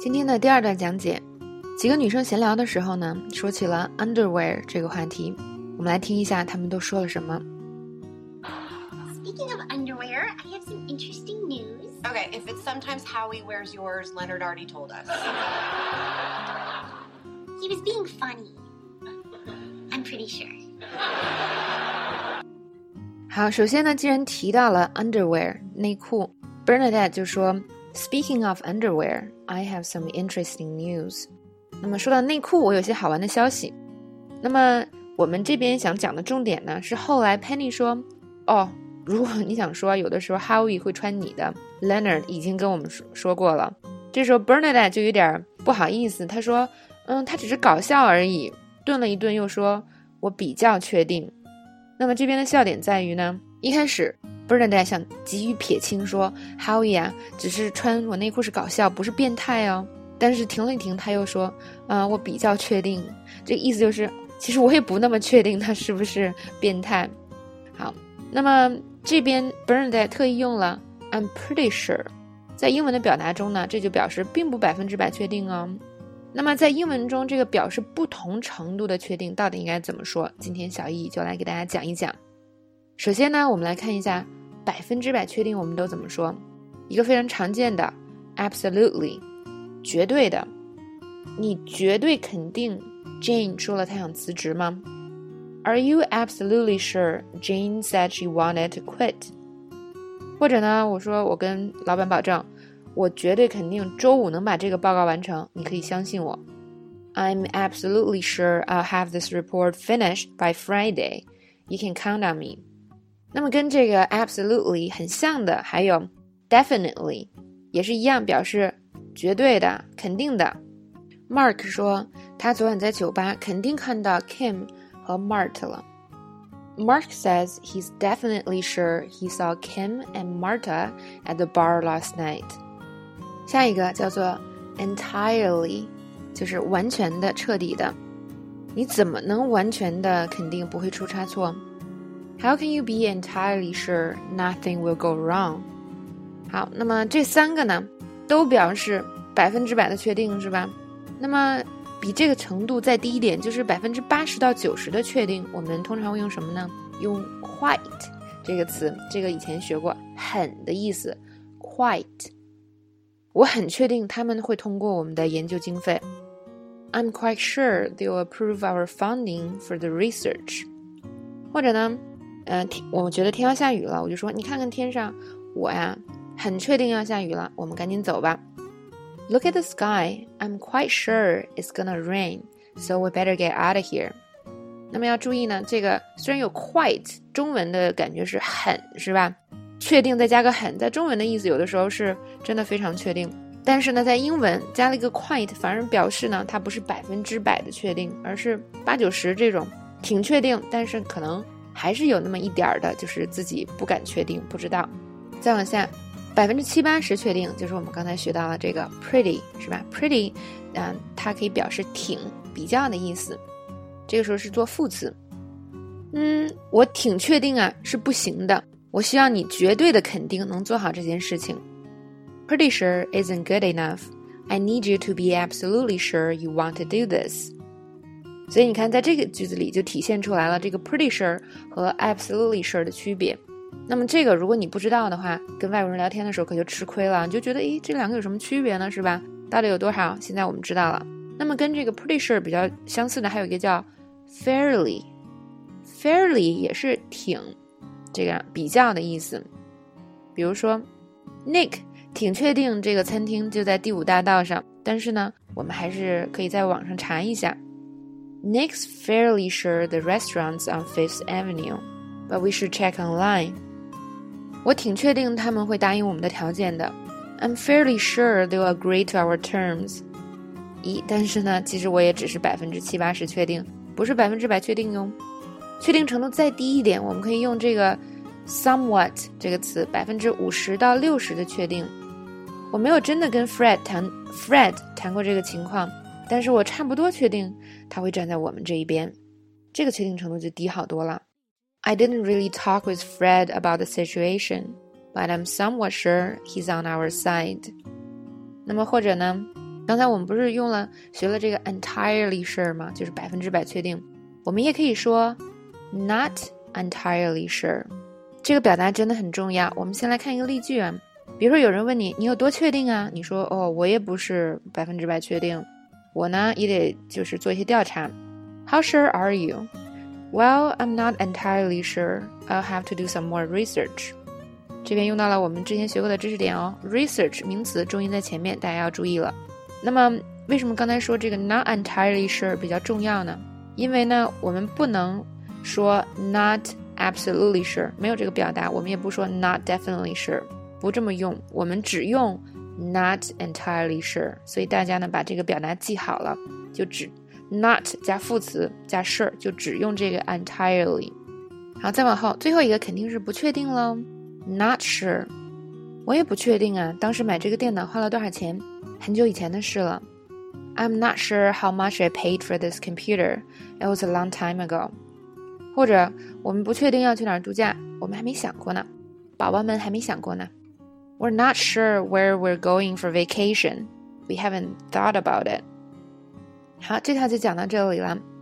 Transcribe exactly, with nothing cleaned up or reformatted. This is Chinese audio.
今天的第二段讲解，几个女生闲聊的时候呢，说起了 underwear 这个话题。我们来听一下她们都说了什么。 Speaking of underwear, I have some interesting news. Okay, if it's sometimes Howie wears yours, Leonard already told us. He was being funny. I'm pretty sure. 好，首先呢，既然提到了 underwear 内裤， Bernadette 就说 Speaking of underwear, I have some interesting news. 那么说到内裤，我有些好玩的消息。那么我们这边想讲的重点呢，是后来 Penny 说，哦，如果你想说有的时候 Howie 会穿你的， Leonard 已经跟我们说说过了。这时候 Bernadette 就有点不好意思，他说嗯，他只是搞笑而已，顿了一顿又说我比较确定。那么这边的笑点在于呢，一开始 Bernadette 想急于撇清说 Howie 啊，只是穿我内裤是搞笑，不是变态哦。但是停了一停，他又说呃，我比较确定，这个意思就是其实我也不那么确定他是不是变态。好，那么这边 Bernadette 特意用了 I'm pretty sure， 在英文的表达中呢，这就表示并不百分之百确定哦。那么在英文中，这个表示不同程度的确定到底应该怎么说？今天小易就来给大家讲一讲。首先呢，我们来看一下百分之百确定我们都怎么说。一个非常常见的 absolutely， 绝对的，你绝对肯定 Jane 说了她想辞职吗？ Are you absolutely sure Jane said she wanted to quit？ 或者呢，我说我跟老板保证，我绝对肯定周五能把这个报告完成，你可以相信我。 I'm absolutely sure I'll have this report finished by Friday. You can count on me. 那么跟这个 absolutely 很像的还有 definitely， 也是一样表示绝对的肯定的。 Mark 说他昨晚在酒吧肯定看到 Kim 和 Marta 了。 Mark says he's definitely sure he saw Kim and Marta at the bar last night. 下一个叫做 entirely， 就是完全的彻底的。你怎么能完全的肯定不会出差错？ How can you be entirely sure nothing will go wrong？ 好，那么这三个呢都表示百分之百的确定是吧？那么比这个程度再低一点，就是百分之八十到九十的确定，我们通常会用什么呢？用 quite 这个词，这个以前学过，很的意思 quite。我很确定他们会通过我们的研究经费。 I'm quite sure they'll approve our funding for the research。 或者呢呃，我觉得天要下雨了，我就说你看看天上，我呀很确定要下雨了，我们赶紧走吧。 Look at the sky, I'm quite sure it's gonna rain, so we better get out of here。 那么要注意呢，这个虽然有 quite 中文的感觉是很是吧，确定再加个很，在中文的意思有的时候是真的非常确定，但是呢在英文加了一个 quite， 反而表示呢它不是百分之百的确定，而是八九十这种挺确定，但是可能还是有那么一点的就是自己不敢确定，不知道。再往下百分之七八十确定，就是我们刚才学到了这个 pretty 是吧？ pretty、呃、它可以表示挺比较的意思，这个时候是做副词。嗯，我挺确定啊是不行的，我需要你绝对的肯定能做好这件事情。 Pretty sure isn't good enough. I need you to be absolutely sure you want to do this. 所以你看在这个句子里就体现出来了这个 pretty sure 和 absolutely sure 的区别。那么这个如果你不知道的话，跟外国人聊天的时候可就吃亏了，你就觉得诶这两个有什么区别呢是吧？到底有多少？现在我们知道了。那么跟这个 pretty sure 比较相似的还有一个叫 fairly。 fairly 也是挺这个比较的意思。比如说 Nick 挺确定这个餐厅就在第五大道上，但是呢我们还是可以在网上查一下。 Nick's fairly sure the restaurant's on Fifth Avenue, but we should check online。 我挺确定他们会答应我们的条件的。 I'm fairly sure they'll agree to our terms。 咦，但是呢其实我也只是百分之七八十确定，不是百分之百确定哟。确定程度再低一点，我们可以用这个 somewhat 这个词，百分之五十到六十的确定。我没有真的跟 Fred 谈 Fred 谈过这个情况，但是我差不多确定他会站在我们这一边，这个确定程度就低好多了。 I didn't really talk with Fred about the situation, but I'm somewhat sure he's on our side。 那么或者呢刚才我们不是用了学了这个 entirely sure 吗？就是百分之百确定。我们也可以说 not entirely sure。这个表达真的很重要。我们先来看一个例句啊，比如说有人问你，你有多确定啊？你说哦，我也不是百分之百确定，我呢也得就是做一些调查。How sure are you? Well, I'm not entirely sure. I'll have to do some more research. 这边用到了我们之前学过的知识点哦 ，research 名词重音在前面，大家要注意了。那么为什么刚才说这个 not entirely sure 比较重要呢？因为呢，我们不能说 not absolutely sure， 没有这个表达，我们也不说 not definitely sure， 不这么用，我们只用 not entirely sure。所以大家呢把这个表达记好了，就只 not 加副词加 sure， 就只用这个 entirely。好，再往后，最后一个肯定是不确定咯 not sure。我也不确定啊，当时买这个电脑花了多少钱，很久以前的事了。I'm not sure how much I paid for this computer. It was a long time ago. 或者我们不确定要去哪儿度假，我们还没想过呢，宝宝们还没想过呢。We're not sure where we're going for vacation. We haven't thought about it. 好，这套就讲到这里了。